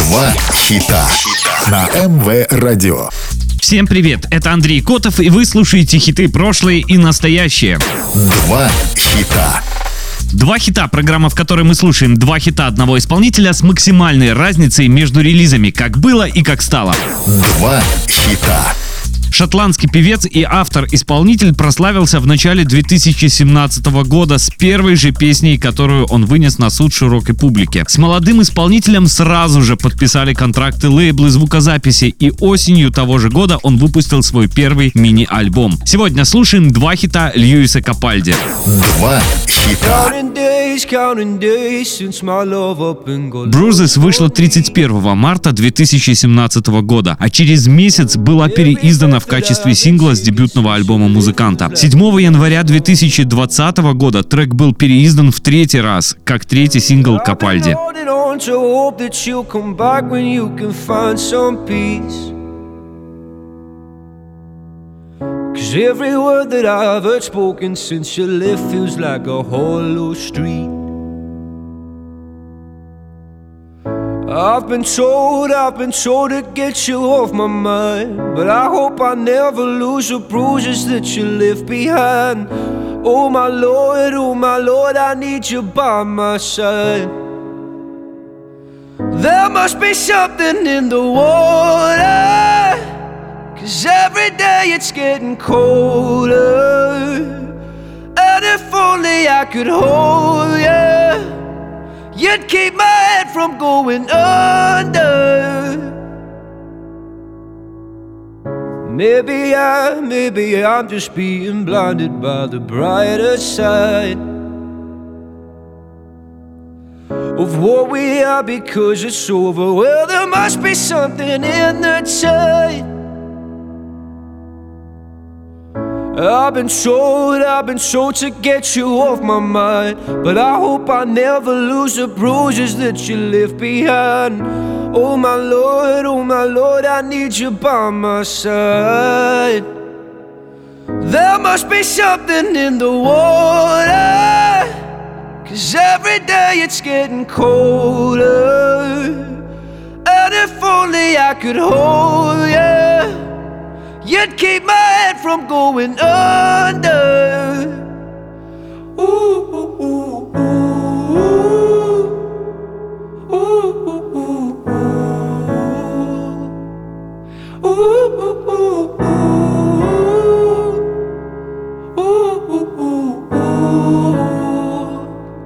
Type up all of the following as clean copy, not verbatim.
Два хита на МВ Радио. Всем привет, это Андрей Котов, и вы слушаете хиты прошлые и настоящие. Два хита. Два хита — программа, в которой мы слушаем два хита одного исполнителя с максимальной разницей между релизами, как было и как стало. Два хита. Шотландский певец и автор-исполнитель прославился в начале 2017 года с первой же песней, которую он вынес на суд широкой публике. С молодым исполнителем сразу же подписали контракты лейблы звукозаписи, и осенью того же года он выпустил свой первый мини-альбом. Сегодня слушаем два хита Льюиса Капальди. Два хита. Bruises вышла 31 марта 2017 года, а через месяц была переиздана в качестве сингла с дебютного альбома музыканта. 7 января 2020 года трек был переиздан в третий раз, как третий сингл Капальди. Every word that I've heard spoken since you left feels like a hollow street. I've been told to get you off my mind, but I hope I never lose the bruises that you left behind. Oh my Lord, I need you by my side. There must be something in the water, 'cause every day it's getting colder. And if only I could hold you, you'd keep my head from going under. Maybe I'm just being blinded by the brighter side of what we are, because it's over. Well, there must be something in the tide. I've been told to get you off my mind, but I hope I never lose the bruises that you left behind. Oh my Lord, I need you by my side. There must be something in the water, 'cause every day it's getting colder. And if only I could hold you, you'd keep my head from going under. Ooh, ooh, ooh, ooh. Ooh, ooh, ooh, ooh. Ooh, ooh, ooh, ooh. Ooh, ooh, ooh, ooh.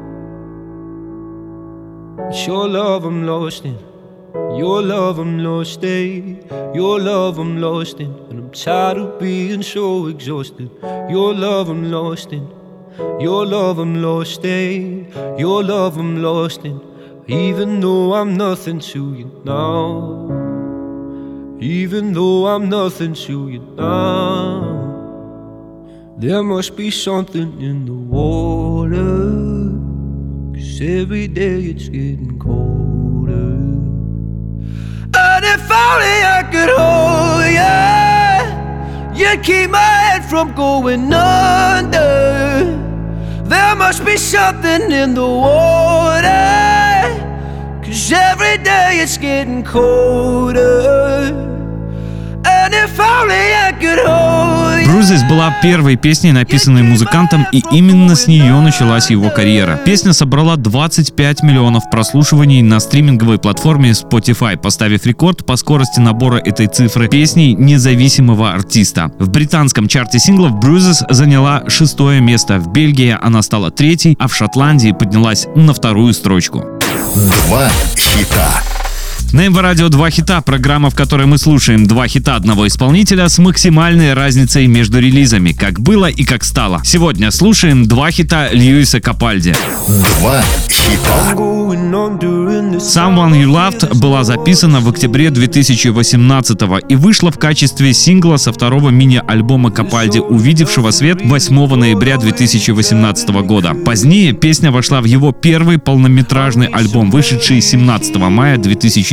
It's your love I'm lost in. Your love I'm lost in, your love I'm lost in, and I'm tired of being so exhausted. Your love I'm lost in, your love I'm lost in, your love I'm lost in. Even though I'm nothing to you now, even though I'm nothing to you now, there must be something in the water, 'cause every day it's getting colder. And if only I could hold you, you'd keep my head from going under. There must be something in the water, 'cause every day it's getting colder. And if only I could hold you. Bruises была первой песней, написанной музыкантом, и именно с нее началась его карьера. Песня собрала 25 миллионов прослушиваний на стриминговой платформе Spotify, поставив рекорд по скорости набора этой цифры песней независимого артиста. В британском чарте синглов Bruises заняла 6-е место, в Бельгии она стала 3-й, а в Шотландии поднялась на 2-ю строчку. Два хита. На МВ Радио «Два хита» — программа, в которой мы слушаем два хита одного исполнителя с максимальной разницей между релизами, как было и как стало. Сегодня слушаем два хита Льюиса Капальди. Два хита. Someone You Loved была записана в октябре 2018 и вышла в качестве сингла со второго мини-альбома Капальди, увидевшего свет 8 ноября 2018 года. Позднее песня вошла в его первый полнометражный альбом, вышедший 17 мая 2019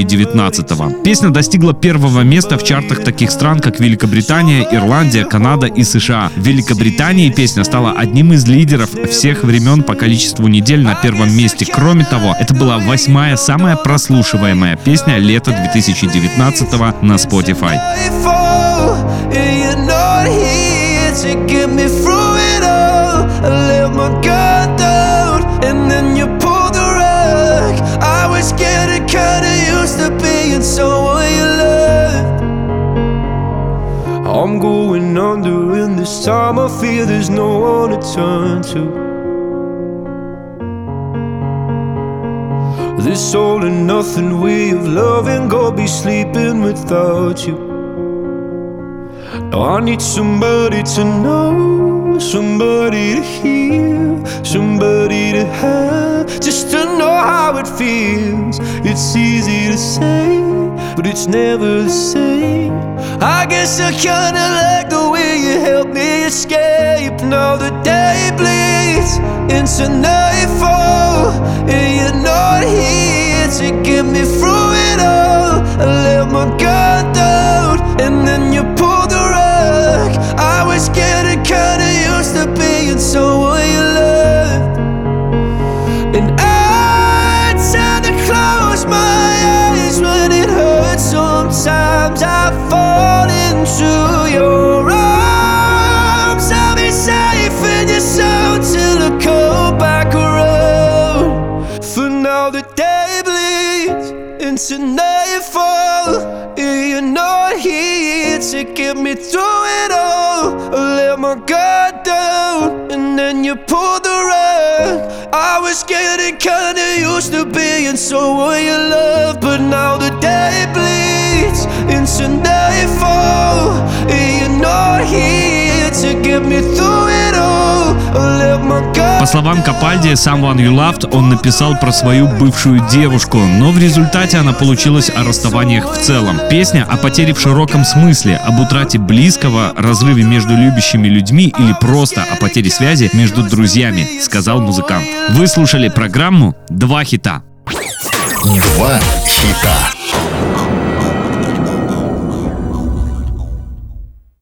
2019-го. Песня достигла первого места в чартах таких стран, как Великобритания, Ирландия, Канада и США. В Великобритании песня стала одним из лидеров всех времен по количеству недель на первом месте. Кроме того, это была 8-я самая прослушиваемая песня лета 2019-го на Spotify. I'm going under, and this time I feel there's no one to turn to. This all and nothing way of loving, go be sleeping without you. Now I need somebody to know, somebody to hear, somebody to have, just to know how it feels. It's easy to say, but it's never the same. I guess I kinda like the way you help me escape. Now the day bleeds into nightfall, and you're not here to get me through it all. I let my guard down, and then you pulled the rug. I was getting kinda used to being someone you loved, and I tend to close my eyes when it hurts. Sometimes I fall into your arms. I'll be safe in your soul till I come back around. For now the day bleeds into nightfall, and you're not here to get me through it all. I let my guard down, and then you pulled the rug. I was getting kinda used to being someone you love, but now the day bleeds into nightfall, and you're not here to get me through it all. I let my guard. По словам Капальди, Someone You Loved он написал про свою бывшую девушку, но в результате она получилась о расставаниях в целом. Песня о потере в широком смысле, об утрате близкого, разрыве между любящими людьми или просто о потере связи между друзьями, сказал музыкант. Вы слушали программу «Два хита». Два хита.